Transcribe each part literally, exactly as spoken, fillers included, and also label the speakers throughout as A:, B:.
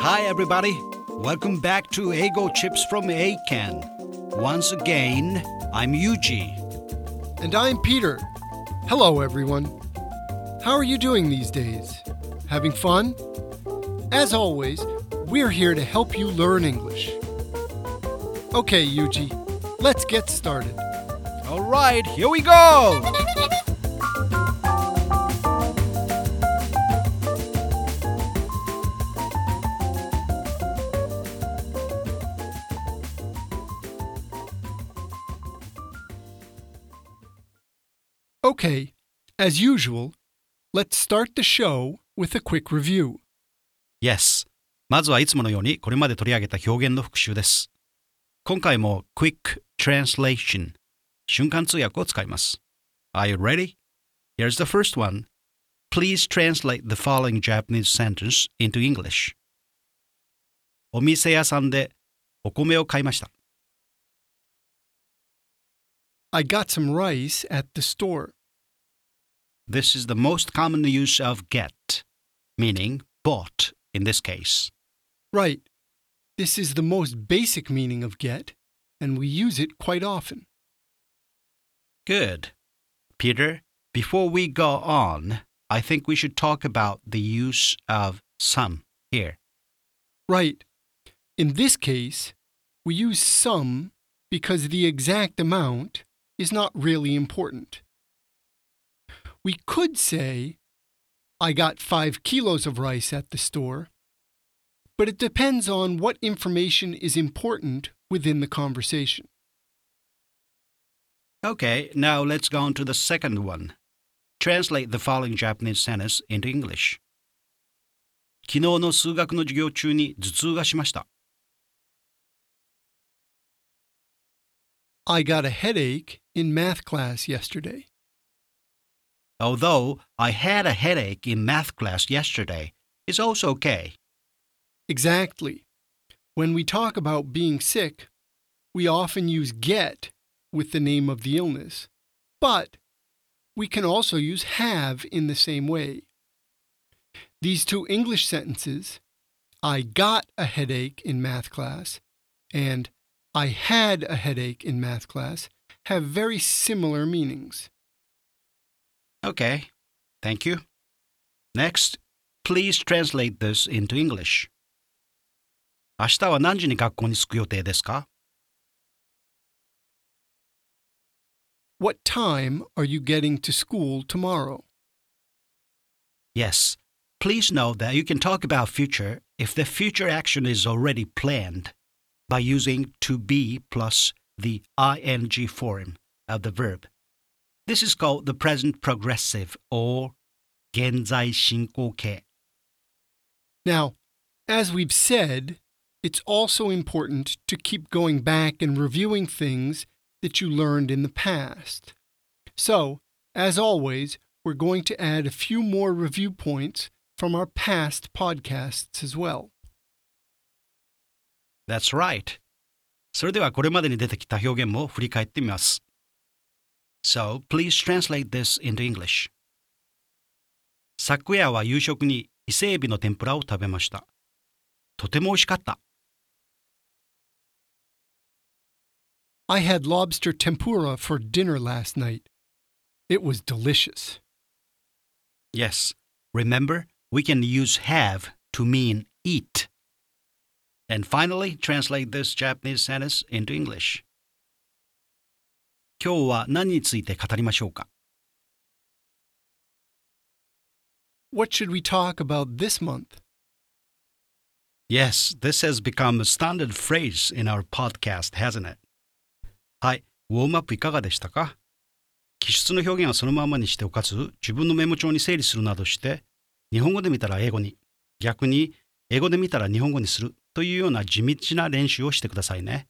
A: Hi, everybody. Welcome back to Ego Chips from A-Can. Once again, I'm Yuji.
B: And I'm Peter. Hello, everyone. How are you doing these days? Having fun? As always, we're here to help you learn English. Okay, Yuji, let's get started.
A: All right, here we go.
B: Okay, as usual, let's start the show with a quick review.
A: Yes. まずはいつものようにこれまで取り上げた表現の復習です。今回も Quick Translation 瞬間通訳を使います。Are you ready? Here's the first one. Please translate the following Japanese sentence into English. お店屋さんでお米を買いました。
B: I got some rice at the store.
A: This is the most common use of get, meaning bought in this case.
B: Right. This is the most basic meaning of get, and we use it quite often.
A: Good. Peter, before we go on, I think we should talk about the use of some here.
B: Right. In this case, we use some because the exact amount is not really important. We could say, I got five kilos of rice at the store, but it depends on what information is important within the conversation.
A: Okay, now let's go on to the second one. Translate the following Japanese sentence into English. 昨日の数学の授業中に頭痛がしました。
B: I got a headache in math class yesterday.
A: Although I had a headache in math class yesterday, it's also okay.
B: Exactly. When we talk about being sick, we often use get with the name of the illness, but we can also use have in the same way. These two English sentences, I got a headache in math class and I had a headache in math class, have very similar meanings.
A: Okay, thank you. Next, please translate this into English. 明日は何時に学校に着く予定ですか?
B: What time are you getting to school tomorrow?
A: Yes, please note that you can talk about future if the future action is already planned by using to be plus the ing form of the verb. This is called the present progressive or 現在進行形.
B: Now, as we've said, it's also important to keep going back and reviewing things that you learned in the past. So, as always, we're going to add a few more review points from our past podcasts as well.
A: That's right. それではこれまでに出てきた表現も振り返ってみます。So, please translate this into English. 昨夜は夕食に伊勢エビの天ぷらを食べました。とても美味しかった。
B: I had lobster tempura for dinner last night. It was delicious.
A: Yes, remember, we can use have to mean eat. And finally, translate this Japanese sentence into English. 今日は何について語りましょうか?
B: What should we talk about this month?
A: Yes, this has become a standard phrase in our podcast, hasn't it? はい、ウォームアップいかがでしたか? 記述の表現はそのままにしておかず、自分のメモ帳に整理するなどして、日本語で見たら英語に、逆に英語で見たら日本語にするというような地道な練習をしてくださいね。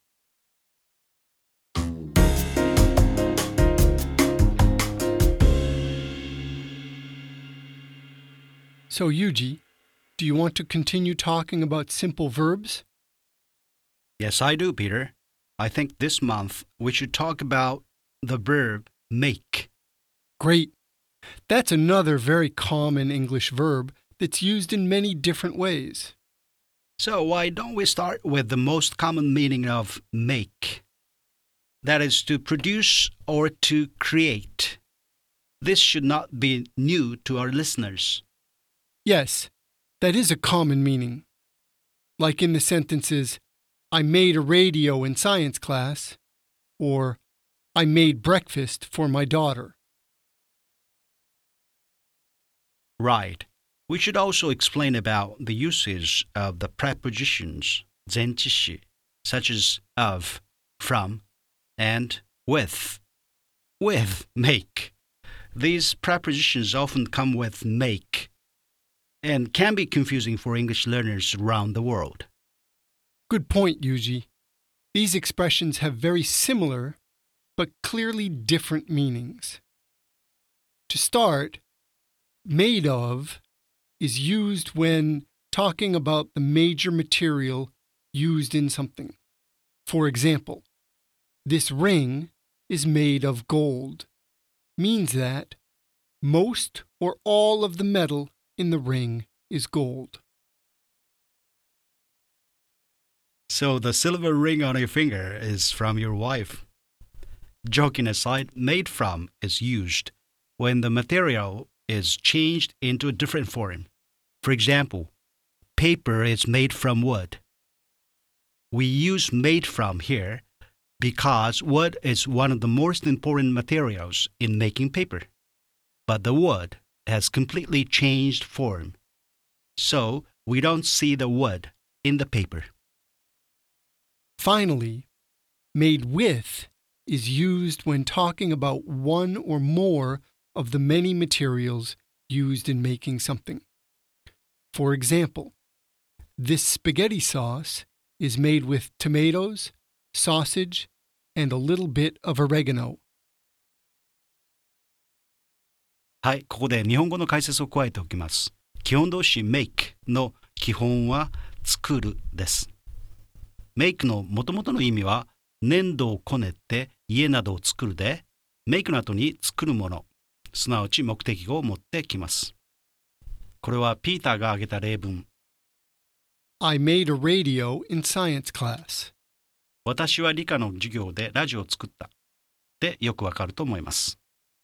B: So, Yuji, do you want to continue talking about simple verbs?
A: Yes, I do, Peter. I think this month we should talk about the verb make.
B: Great. That's another very common English verb that's used in many different ways.
A: So why don't we start with the most common meaning of make? That is to produce or to create. This should not be new to our listeners.
B: Yes, that is a common meaning. Like in the sentences, I made a radio in science class, or I made breakfast for my daughter.
A: Right. We should also explain about the usage of the prepositions 前置詞 such as of, from, and with. With make. These prepositions often come with make and can be confusing for English learners around the world.
B: Good point, Yuji. These expressions have very similar but clearly different meanings. To start, made of is used when talking about the major material used in something. For example, this ring is made of gold means that most or all of the metal in the ring is gold.
A: So the silver ring on your finger is from your wife. Joking aside, made from is used when the material is changed into a different form. For example, paper is made from wood. We use made from here because wood is one of the most important materials in making paper. But the wood has completely changed form, so we don't see the wood in the paper.
B: Finally, made with is used when talking about one or more of the many materials used in making something. For example, this spaghetti sauce is made with tomatoes, sausage, and a little bit of oregano.
A: はい、ここで日本語の解説を加えておきます。基本動詞 make の基本は作るです。make の元々の意味は粘土をこねて家などを作るで、make の後に作るもの、すなわち目的語を持ってきます。これはピーターが挙げた例文。
B: I made a radio in science class.
A: 私は理科の授業でラジオを作った。でよくわかると思います。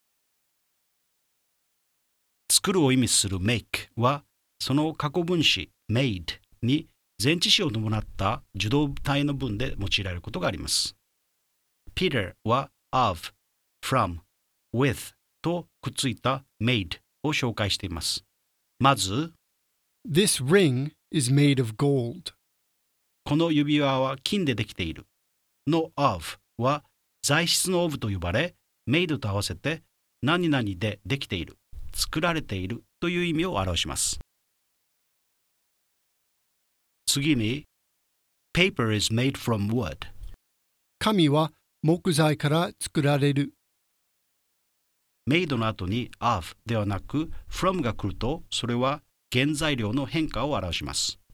A: 作るを意味する make はその過去分詞 made に前置詞を伴った受動体の文で用いられることがあります。Peter は of, from, with とくっついた made を紹介しています。まず、
B: This ring is made of gold.
A: この指輪は金でできているの of は材質の of と呼ばれ、made と合わせて何々でできている、作られているという意味を表します。次に、paper is made from wood.
B: 紙は木材から作られる。
A: made の後に of ではなく from が来ると、それは原材料の変化を表します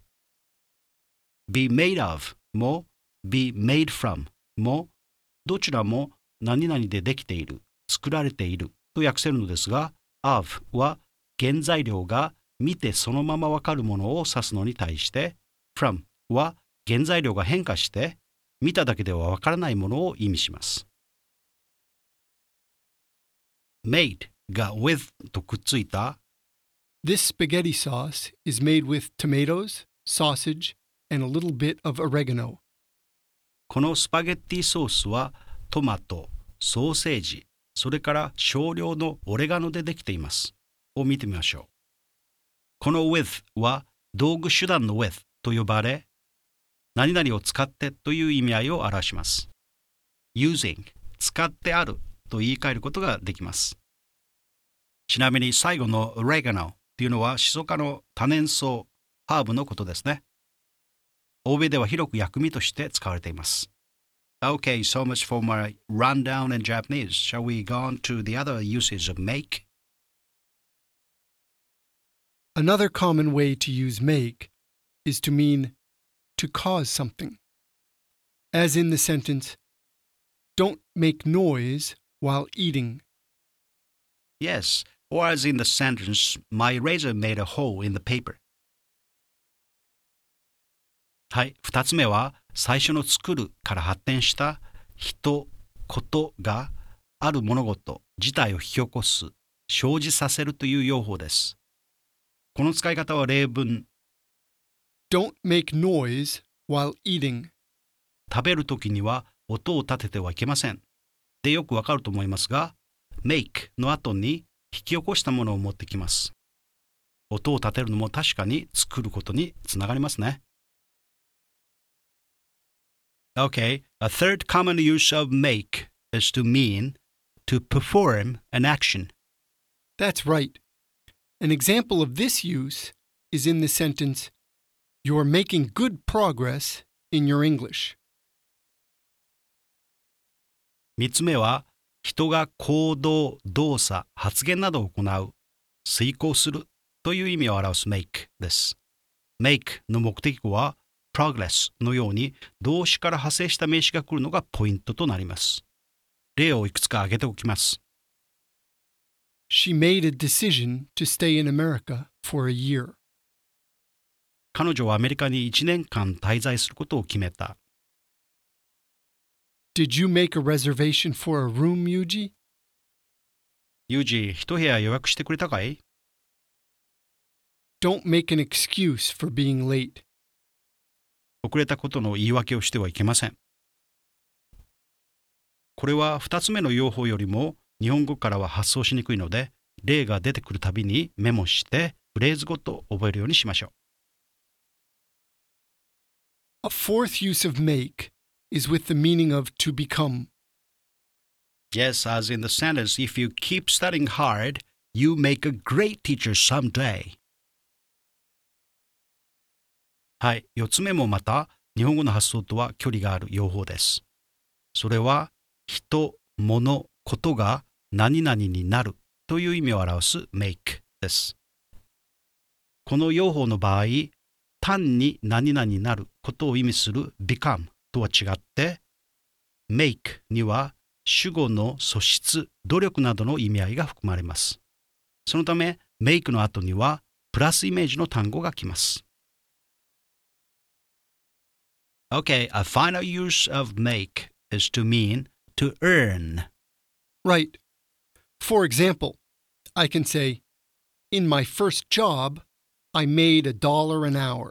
A: 。be made of も be made from もどちらも何々でできている、作られていると訳せるのですが、of は原材料が見てそのままわかるものを指すのに対して、from は原材料が変化して見ただけではわからないものを意味します。made が with とくっついた
B: This spaghetti sauce is made with tomatoes, sausage, and a little bit of oregano.
A: このスパゲッティソースはトマト、ソーセージ、それから少量のオレガノでできています。を見てみましょう。この with は道具手段の with と呼ばれ、何々を使ってという意味合いを表します。using 使ってあると言い換えることができます。ちなみに最後の oregano というのはシソ科の多年草、ハーブのことですね。欧米では広く薬味として使われています。Okay, so much for my rundown in Japanese. Shall we go on to the other uses of make?
B: Another common way to use make is to mean to cause something. As in the sentence, don't make noise while eating.
A: Yes, or as in the sentence, my razor made a hole in the paper. はい、二つ目は最初の作るから発展した人、ことがある物事自体を引き起こす、生じさせるという用法です。この使い方は例文、
B: Don't make noise while eating.
A: 食べるときには音を立ててはいけません。でよくわかると思いますが、make の後に引き起こしたものを持ってきます。音を立てるのも確かに作ることにつながりますね。Okay, a third common use of make is to mean to perform an action.
B: That's right. An example of this use is in the sentence, You're making good progress in your English.
A: 三つ目は、人が行動、動作、発言などを行う、遂行するという意味を表す make です。make の目的語は progress のように動詞から派生した名詞が来るのがポイントとなります。例をいくつか挙げておきます。
B: She made a decision to stay in America for a year.
A: 彼女はアメリカにいちねんかん滞在することを決めた。
B: Did you make a reservation for a room, Yuji?
A: ユージ、一部屋予約してくれたかい？
B: Don't make an excuse for being late.
A: 遅れたことの言い訳をしてはいけません。これは二つ目の用法よりも日本語からは発想しにくいので、例が出てくるたびにメモしてフレーズごと覚えるようにしましょう。
B: A fourth use of make is with the meaning of to become.
A: Yes, as in the sentence, if you keep studying hard, you make a great teacher someday. はい、四つ目もまた日本語の発想とは距離がある用法です。それは人、物、ことが何々になるという意味を表す make です。この用法の場合、単に何々になることを意味する become とは違って、make には主語の素質、努力などの意味合いが含まれます。そのため、make の後にはプラスイメージの単語が来ます。Okay, a final use of make is to mean to earn.
B: Right. For example, I can say, In my first job, I made a dollar an hour.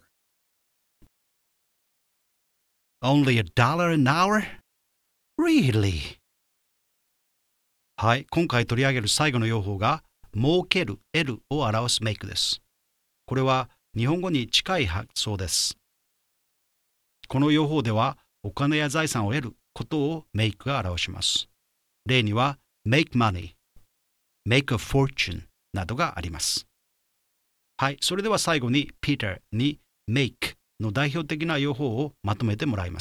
A: Only a dollar an hour? Really? はい、今回取り上げる最後の用法が儲ける、得るを表す make です。これは日本語に近い発想です。この用法ではお金や財産を得ることを make が表します。例には make money, make a fortune などがあります。はい、それでは最後に Peter に make の代表的な用法をまとめてもらいます。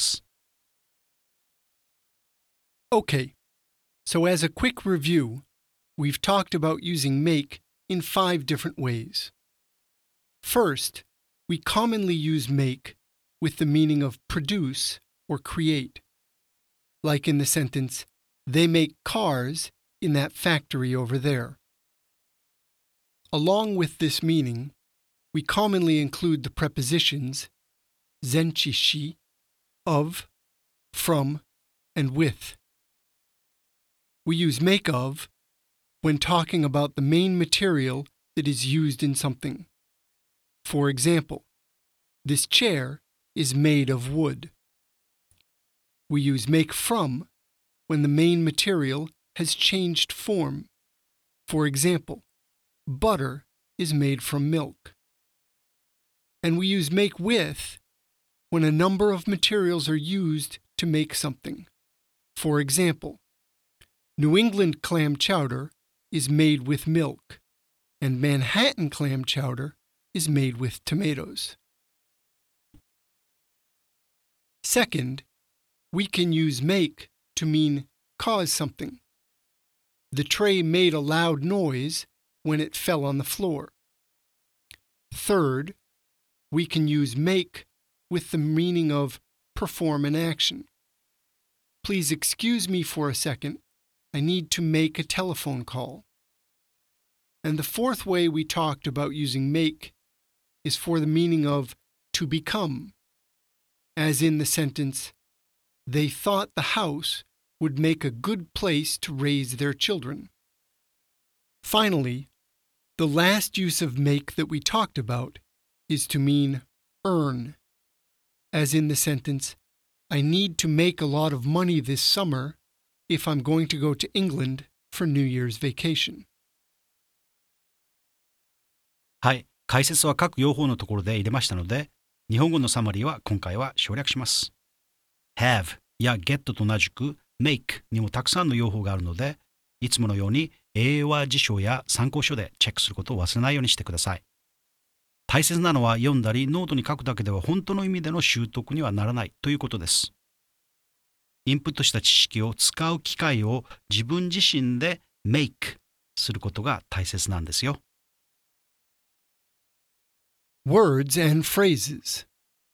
B: Okay, so as a quick review, we've talked about using make in five different ways. First, we commonly use make with the meaning of produce or create, like in the sentence, They make cars in that factory over there. Along with this meaning, we commonly include the prepositions zenchishi, of, from, and with. We use make of when talking about the main material that is used in something. For example, this chair is made of wood. We use make from when the main material has changed form. For example, butter is made from milk. And we use make with when a number of materials are used to make something. For example, New England clam chowder is made with milk, and Manhattan clam chowder is made with tomatoes. Second, we can use make to mean cause something. The tray made a loud noise when it fell on the floor. Third, we can use make with the meaning of perform an action. Please excuse me for a second. I need to make a telephone call. And the fourth way we talked about using make is for the meaning of to become. as in the sentence, They thought the house would make a good place to raise their children. Finally, the last use of make that we talked about is to mean earn, as in the sentence, I need to make a lot of money this summer if I'm going to go to England for New Year's vacation.
A: はい、解説は各用法のところで入れましたので、日本語のサマリーは今回は省略します。have や get と同じく make にもたくさんの用法があるので、いつものように英和辞書や参考書でチェックすることを忘れないようにしてください。大切なのは読んだりノートに書くだけでは本当の意味での習得にはならないということです。インプットした知識を使う機会を自分自身で make することが大切なんですよ。
B: Words and phrases.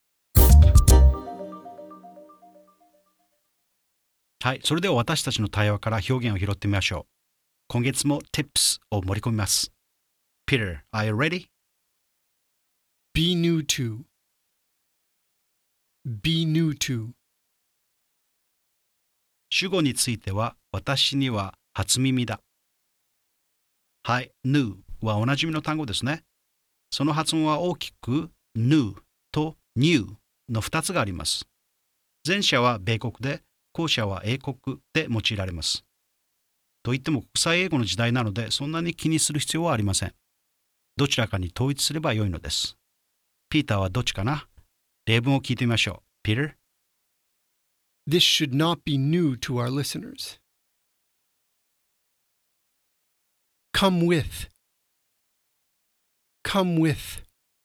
A: はい、それでは私たちの対話から表現を拾ってみましょう。今月も tips を盛り込みます。Peter, are you ready?
B: Be new to. Be new to.
A: 主語については私には初耳だ。はい、new はおなじみの単語ですね。その発音は大きく new と new のふたつがあります。前者は米国で、後者は英国で用いられます。といっても国際英語の時代なのでそんなに気にする必要はありません。どちらかに統一すればよいのです。ピーターはどっちかな？例文を聞いてみましょう。Peter?
B: This should not be new to our listeners. Come with. Come with.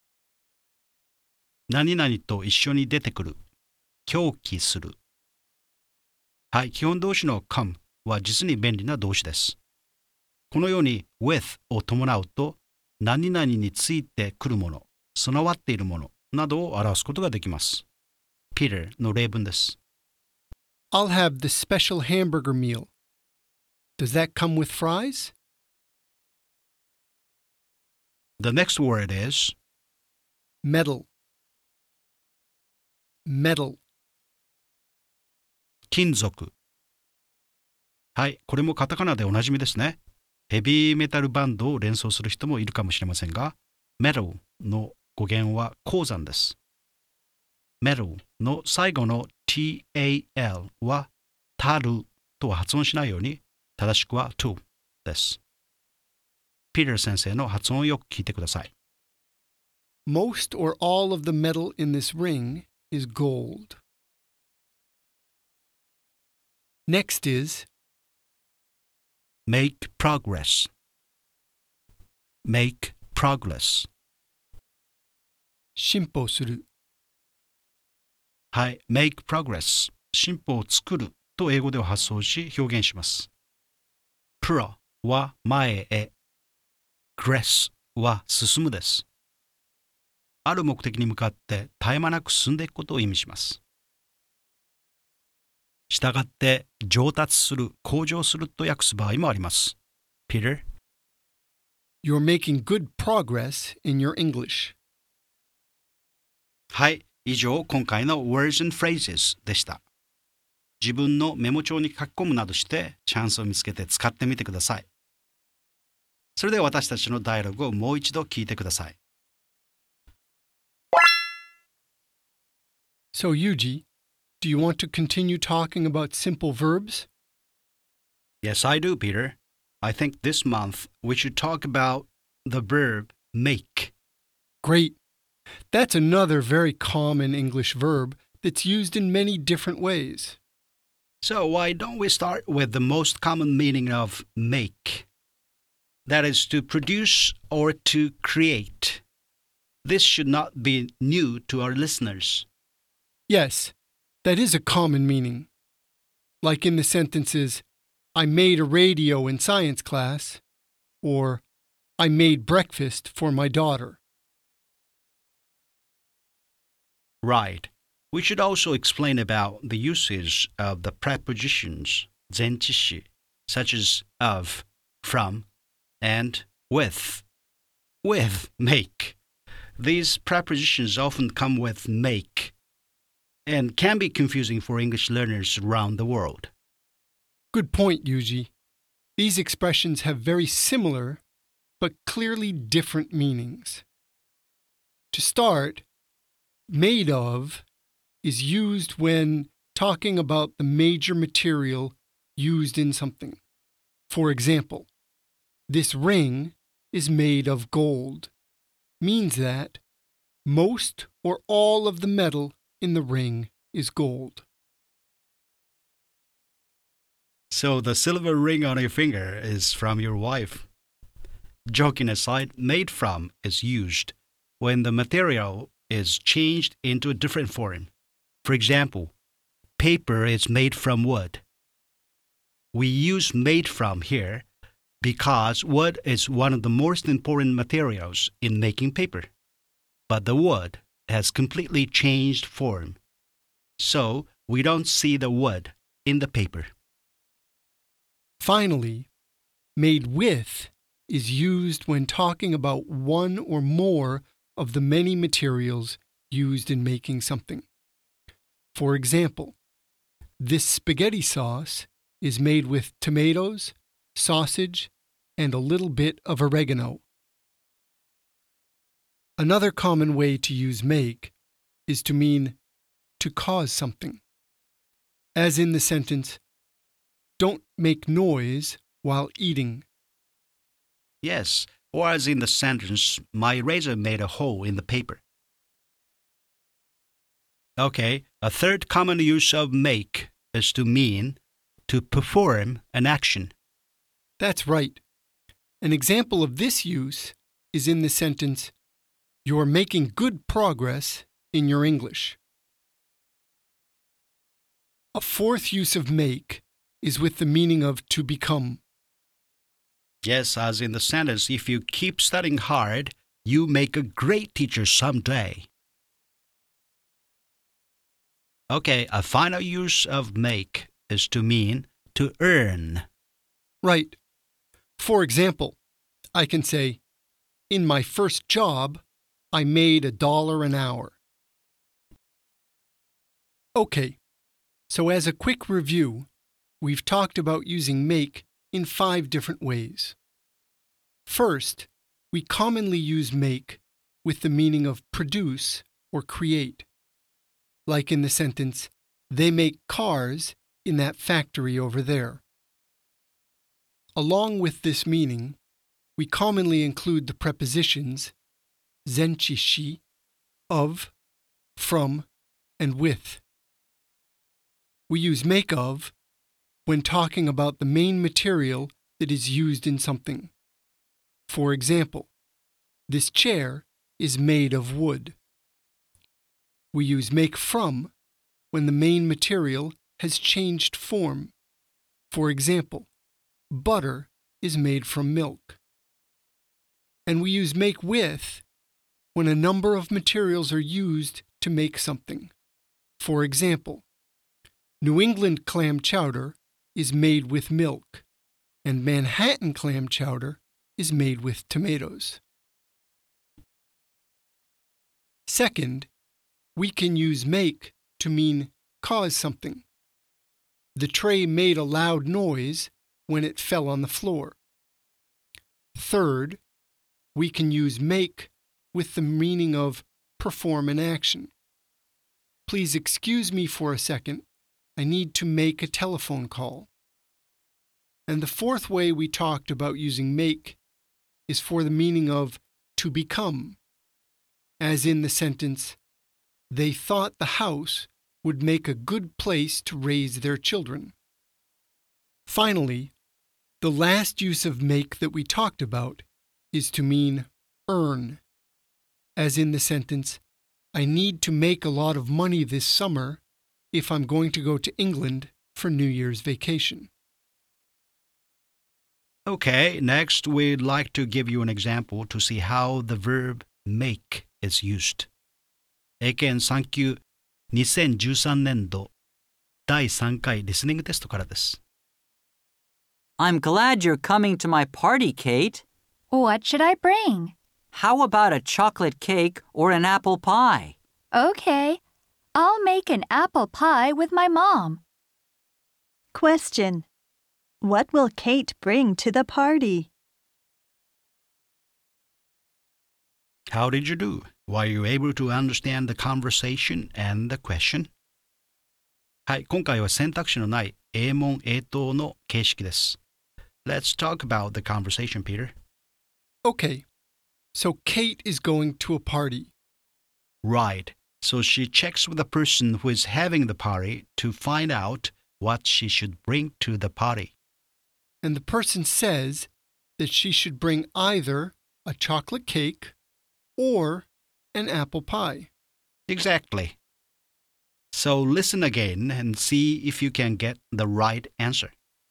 A: 何々と一緒に出てくる。狂気する。はい、基本動詞の come は実に便利な動詞です。このように with を伴うと何々についてくるもの、備わっているものなどを表すことができます。Peter の例文です。
B: I'll have the special hamburger meal. Does that come with fries?
A: The next word is
B: Metal. Metal.
A: 金属。はい、これもカタカナでおなじみですね。ヘビーメタルバンドを連想する人もいるかもしれませんが、metal の語源は鉱山です。metal の最後の tal はたるとは発音しないように、正しくは to です。Peter 先生の発音をよく聞いてください。
B: Most or all of the metal in this ring is gold. Next is
A: make progress. make progress.
B: 進歩する。
A: はい、make progress。進歩を作ると英語では発想し表現します。pro は前へ。gress は進むです。ある目的に向かって絶え間なく進んでいくことを意味します。したがって上達する、向上すると訳す場合もあります。Peter?
B: You're making good progress in your English.
A: はい、以上今回の Words and Phrases でした。自分のメモ帳に書き込むなどしてチャンスを見つけて使ってみてください。それでは私たちのダイアログをもう一度聞いてください。
B: So, Yuji, do you want to continue talking about simple verbs?
A: Yes, I do, Peter. I think this month we should talk about the verb make.
B: Great. That's another very common English verb that's used in many different ways.
A: So why don't we start with the most common meaning of make? That is to produce or to create. This should not be new to our listeners.
B: Yes, that is a common meaning. Like in the sentences, I made a radio in science class, or I made breakfast for my daughter.
A: Right. We should also explain about the usage of the prepositions 前置詞 such as of, from, and with. With make. These prepositions often come with make. and can be confusing for English learners around the world.
B: Good point, Yuji. These expressions have very similar but clearly different meanings. To start, made of is used when talking about the major material used in something. For example, this ring is made of gold means that most or all of the metal in the ring is gold.
A: So the silver ring on your finger is from your wife. Joking aside, made from is used when the material is changed into a different form. For example, paper is made from wood. We use made from here because wood is one of the most important materials in making paper. But the wood has completely changed form, so we don't see the wood in the paper.
B: Finally, made with is used when talking about one or more of the many materials used in making something. For example, this spaghetti sauce is made with tomatoes, sausage, and a little bit of oregano. Another common way to use make is to mean to cause something. As in the sentence, don't make noise while eating.
A: Yes, or as in the sentence, my razor made a hole in the paper. Okay, a third common use of make is to mean to perform an action.
B: That's right. An example of this use is in the sentence, you're making good progress in your English. A fourth use of make is with the meaning of to become.
A: Yes, as in the sentence, if you keep studying hard, you make a great teacher someday. Okay, a final use of make is to mean to earn.
B: Right. For example, I can say, in my first job, I made a dollar an hour. Okay, so as a quick review, we've talked about using make in five different ways. First, we commonly use make with the meaning of produce or create. Like in the sentence, they make cars in that factory over there. Along with this meaning, we commonly include the prepositions zenchi-shi, of, from, and with. We use make of when talking about the main material that is used in something. For example, this chair is made of wood. We use make from when the main material has changed form. For example, butter is made from milk. And we use make with when a number of materials are used to make something. For example, New England clam chowder is made with milk, and Manhattan clam chowder is made with tomatoes. Second, we can use make to mean cause something. The tray made a loud noise when it fell on the floor. Third, we can use make with the meaning of perform an action. Please excuse me for a second. I need to make a telephone call. And the fourth way we talked about using make is for the meaning of to become. As in the sentence, they thought the house would make a good place to raise their children. Finally, the last use of make that we talked about is to mean earn. As in the sentence, I need to make a lot of money this summer if I'm going to go to England for New Year's vacation.
A: Okay, next we'd like to give you an example to see how the verb make is used. 英検さん級にせんじゅうさんねん度だいさんかいリスニングテストからです。
C: I'm glad you're coming to my party, Kate.
D: What should I bring?
C: How about a chocolate cake or an apple pie?
D: Okay. I'll make an apple pie with my mom.
E: Question. What will Kate bring to the party?
A: How did you do? Were you able to understand the conversation and the question? はい、今回は選択肢のない英問英答の形式です。Let's talk about the conversation, Peter.
B: Okay, so Kate is going to a party.
A: Right. So she checks with the person who is having the party to find out what she should bring to the party.
B: And the person says that she should bring either a chocolate cake or an apple pie.
A: Exactly. So listen again and see if you can get the right answer.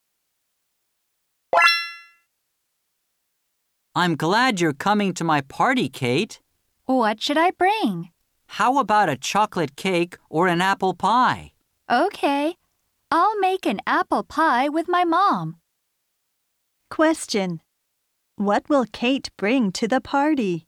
C: I'm glad you're coming to my party, Kate.
D: What should I bring?
C: How about a chocolate cake or an apple pie?
D: Okay, I'll make an apple pie with my mom.
E: Question. What will Kate bring to the party?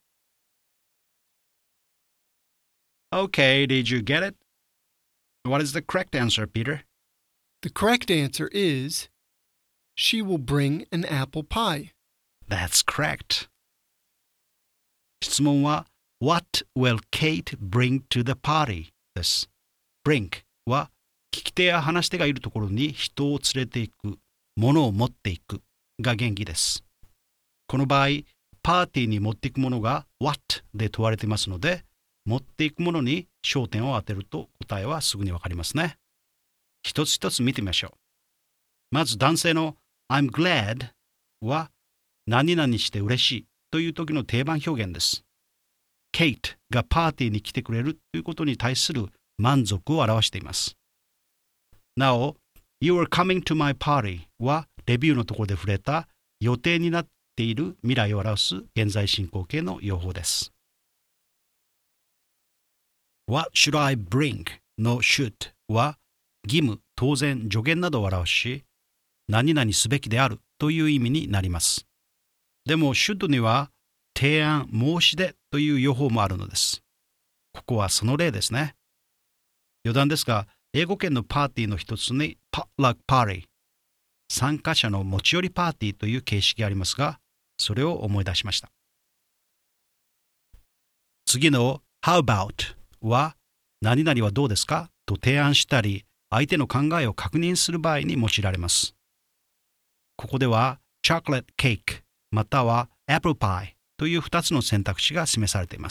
A: Okay, did you get it? What is the correct answer, Peter?
B: The correct answer is she will bring an apple pie.
A: That's correct. 質問は What will Kate bring to the party? です。bring は聞き手や話し手がいるところに人を連れていく、物を持っていくが元気です。この場合、パーティーに持っていくものが What で問われていますので、持っていくものに焦点を当てると答えはすぐにわかりますね。一つ一つ見てみましょう。まず男性の I'm glad は何々して嬉しいという時の定番表現です。Kate がパーティーに来てくれるということに対する満足を表しています。なお、You are coming to my party はレビューのところで触れた予定になっている未来を表す現在進行形の用法です。What should I bring? の should は義務、当然、助言などを表し、何々すべきであるという意味になります。でも should には提案、申し出という用法もあるのです。ここはその例ですね。余談ですが、英語圏のパーティーの一つに potluck party、参加者の持ち寄りパーティーという形式がありますが、それを思い出しました。次の how about は何々はどうですかと提案したり、相手の考えを確認する場合に用いられます。ここでは chocolate cake または apple pie というふたつの選択肢が示されています。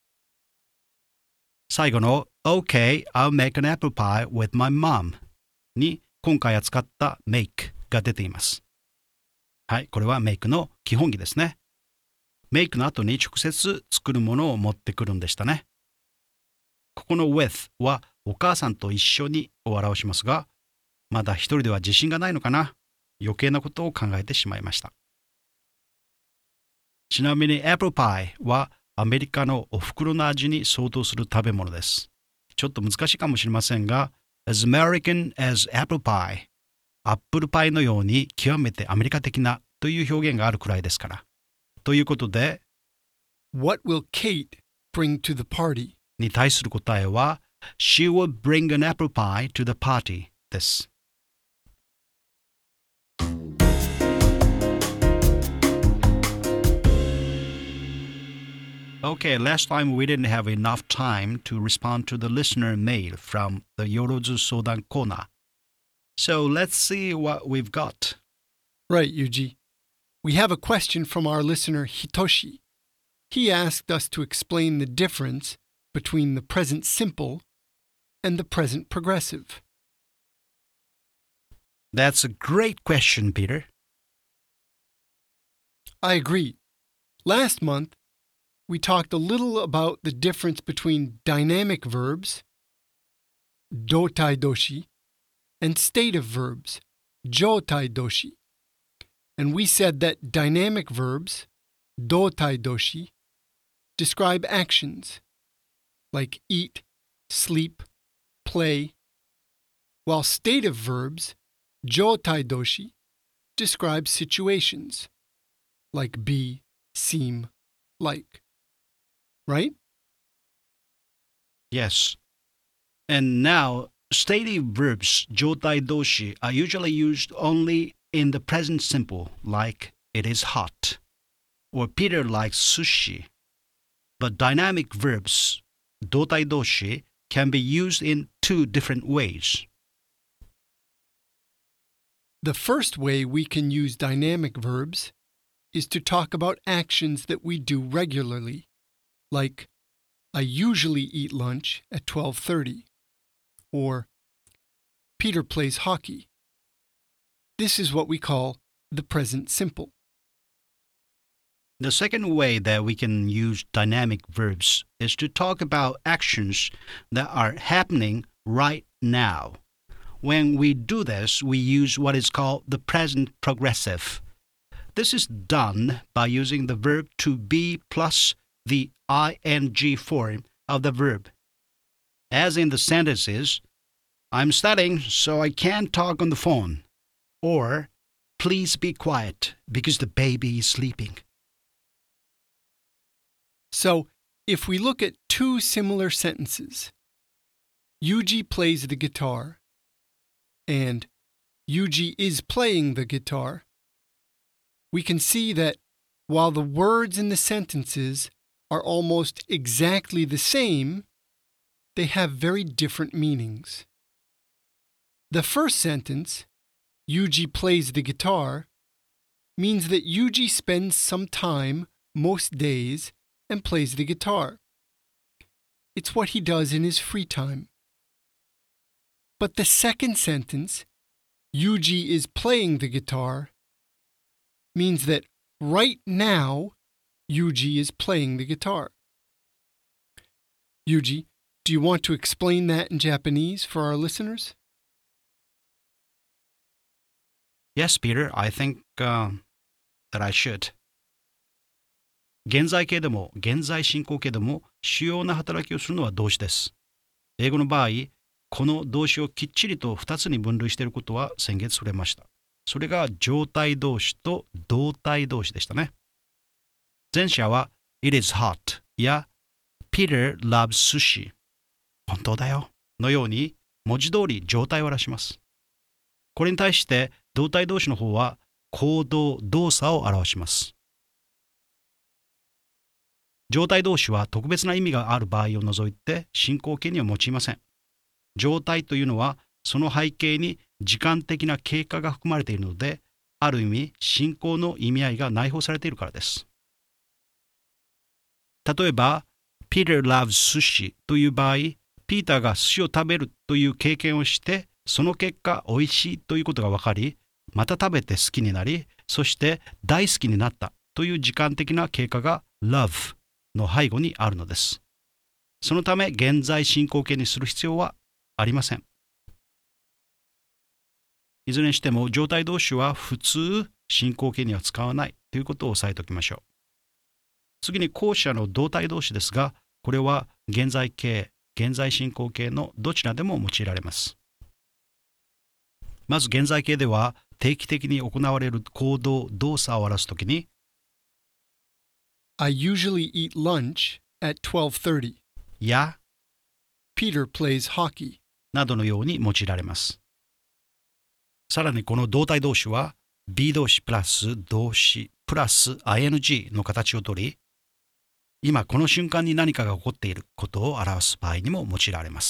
A: 最後の OK, I'll make an apple pie with my mom に今回扱った make が出ています。はい、これは make の基本儀ですね。make の後に直接作るものを持ってくるんでしたね。ここの with はお母さんと一緒にを表しますが、まだ一人では自信がないのかな。余計なことを考えてしまいました。ちなみに apple pie はアメリカのお袋の味に相当する食べ物です。ちょっと難しいかもしれませんが、as American as apple pie、アップルパイのように極めてアメリカ的なという表現があるくらいですから。ということで、
B: What will Kate bring to the party?
A: に対する答えは、She will bring an apple pie to the party です。Okay, last time we didn't have enough time to respond to the listener mail from the Yorozu Sodan corner. So let's see what we've got.
B: Right, Yuji. We have a question from our listener Hitoshi. He asked us to explain the difference between the present simple and the present progressive.
A: That's a great question, Peter.
B: I agree. Last month, we talked a little about the difference between dynamic verbs, dotai doshi, and stative verbs, jotai doshi. And we said that dynamic verbs, dotai doshi, describe actions like eat, sleep, play, while stative verbs, jotai doshi, describe situations like be, seem, like. Right?
A: Yes. And now, stative verbs 状態動詞 are usually used only in the present simple, like it is hot, or Peter likes sushi. But dynamic verbs 動態動詞 can be used in two different ways.
B: The first way we can use dynamic verbs is to talk about actions that we do regularly, like I usually eat lunch at twelve thirty, or Peter plays hockey. This is what we call the present simple.
A: The second way that we can use dynamic verbs is to talk about actions that are happening right now. When we do this, we use what is called the present progressive. This is done by using the verb to be plus the ing form of the verb. As in the sentences, I'm studying so I can't talk on the phone. Or, please be quiet because the baby is sleeping.
B: So, if we look at two similar sentences, Yuji plays the guitar and Yuji is playing the guitar, we can see that while the words in the sentences are almost exactly the same, they have very different meanings. The first sentence, Yuji plays the guitar, means that Yuji spends some time, most days, and plays the guitar. It's what he does in his free time. But the second sentence, Yuji is playing the guitar, means that right now, Yuji is playing the guitar. Yuji, do you want to explain that in Japanese for our listeners?
A: Yes, Peter, I think uh, that I should. 現在形でも現在進行形でも主要な働きをするのは動詞です。英語の場合、この動詞をきっちりとふたつに分類していることは先月触れました。それが状態動詞と動態動詞でしたね。前者は It is hot や Peter loves sushi 本当だよのように文字通り状態を表します。これに対して動態動詞の方は行動動作を表します。状態動詞は特別な意味がある場合を除いて進行形には用いません。状態というのはその背景に時間的な経過が含まれているので、ある意味進行の意味合いが内包されているからです。例えば、Peter loves sushi という場合、ピーターが寿司を食べるという経験をして、その結果美味しいということが分かり、また食べて好きになり、そして大好きになったという時間的な経過が loveの背後にあるのです。そのため現在進行形にする必要はありません。いずれにしても状態動詞は普通進行形には使わないということを押さえておきましょう。次に後者の動態動詞ですが、これは現在形、現在進行形のどちらでも用いられます。まず現在形では定期的に行われる行動、動作を表すときに
B: I usually eat lunch at twelve thirty.
A: や
B: Peter plays hockey.
A: などのように用いられます。さらにこの動態動詞は be 動詞プラス動詞プラス ing の形をとり、今この瞬間に何かが起こっていることを表す場合にも用いられます。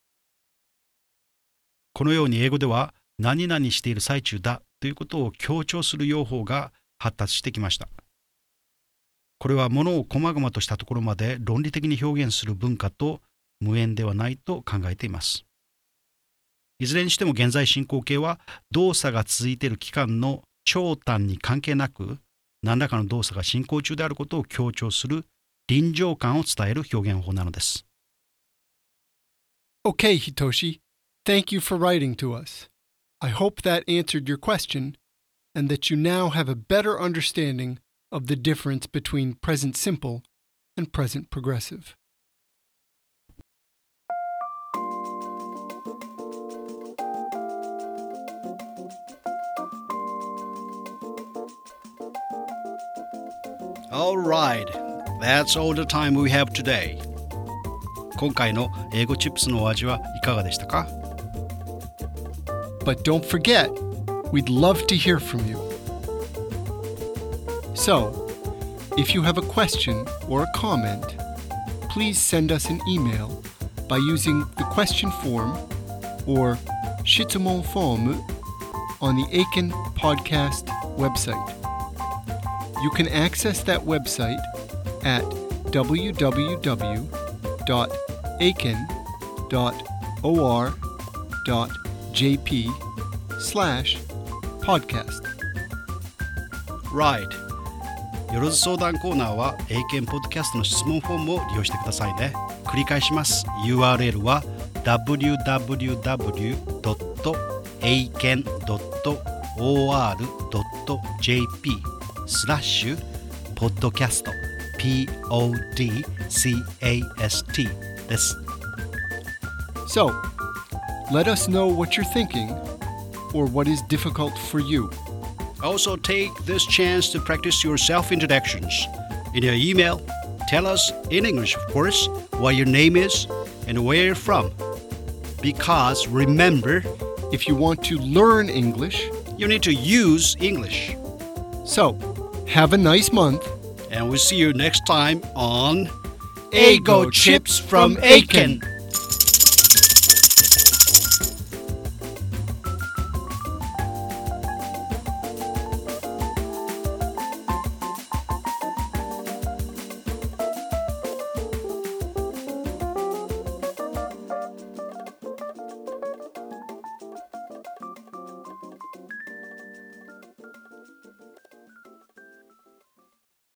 A: このように英語では何々している最中だということを強調する用法が発達してきました。これはものを細々としたところまで論理的に表現する文化と無縁ではないと考えています。いずれにしても現在進行形は動作が続いている期間の長短に関係なく何らかの動作が進行中であることを強調する臨場感を伝える表現法なのです。
B: Okay, Hitoshi. Thank you for writing to us. I hope that answered your question and that you now have a better understanding of the difference between present simple and present progressive.
A: All right, that's all the time we have today. 今回の英語チップスのお味はいかがでしたか？
B: But don't forget, we'd love to hear from you. So, if you have a question or a comment, please send us an email by using the question form or Shitsumon form on the Aiken Podcast website. You can access that website at w w w dot aiken dot o r dot j p slash podcast.
A: Right. よろず相談コーナーは英検ポッドキャストの質問フォームを利用してくださいね。繰り返します。ユーアールエル は ダブリューダブリューダブリュードットエイケンドットオーアールドットジェーピー スラッシュポッドキャスト ピーオーディーキャスト です。
B: So, let us know what you're thinking or what is difficult for you.
A: Also, take this chance to practice your self-introductions. In your email, tell us in English, of course, what your name is and where you're from. Because remember,
B: If you want to learn English,
A: you need to use English.
B: so have a nice month.
A: And we'll see you next time on
B: Eigo Chips from Aiken.